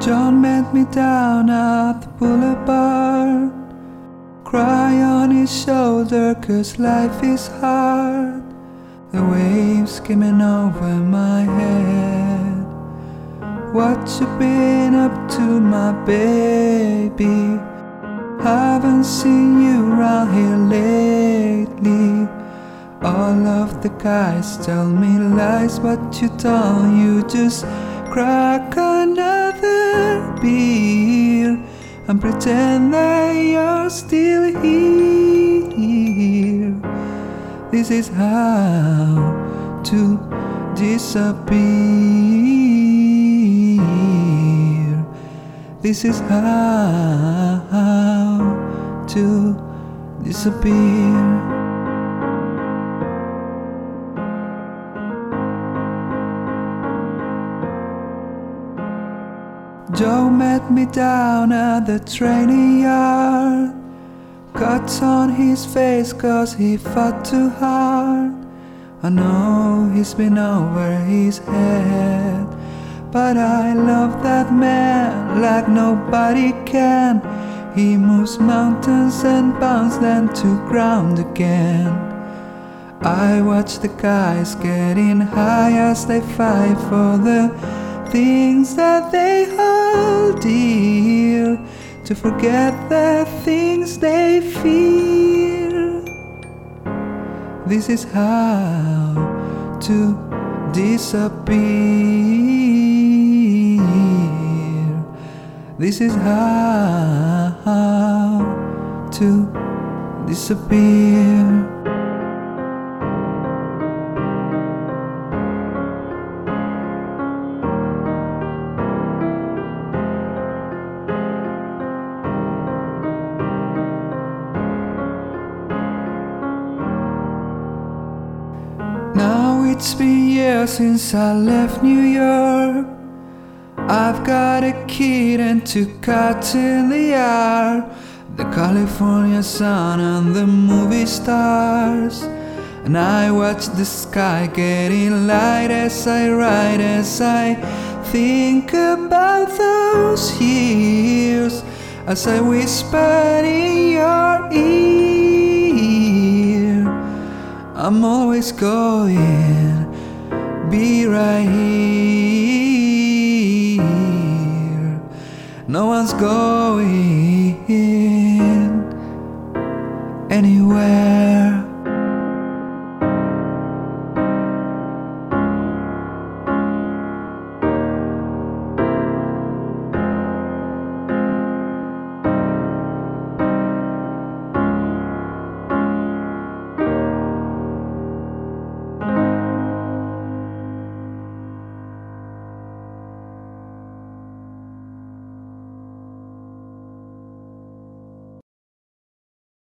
John met me down at the boulevard. Cry on his shoulder 'cause life is hard. The waves skimming over my head. What you been up to, my baby? Haven't seen you around here lately. All of the guys tell me lies, but you don't. You just crack another beer and pretend that you're still here. This is how to disappear. This is how to disappear. Joe met me down at the training yard. Cuts on his face 'cause he fought too hard. I know he's been over his head, but I love that man like nobody can. He moves mountains and bounds them to ground again. I watch the guys getting high as they fight for the things that they hold dear, to forget the things they fear. This is how to disappear. This is how to disappear. Now it's been years since I left New York. I've got a kid and 2 cats in the yard. The California sun and the movie stars. And I watch the sky getting light as I ride, as I think about those years, as I whisper in your ear. I'm always going, be right here. No one's going anywhere.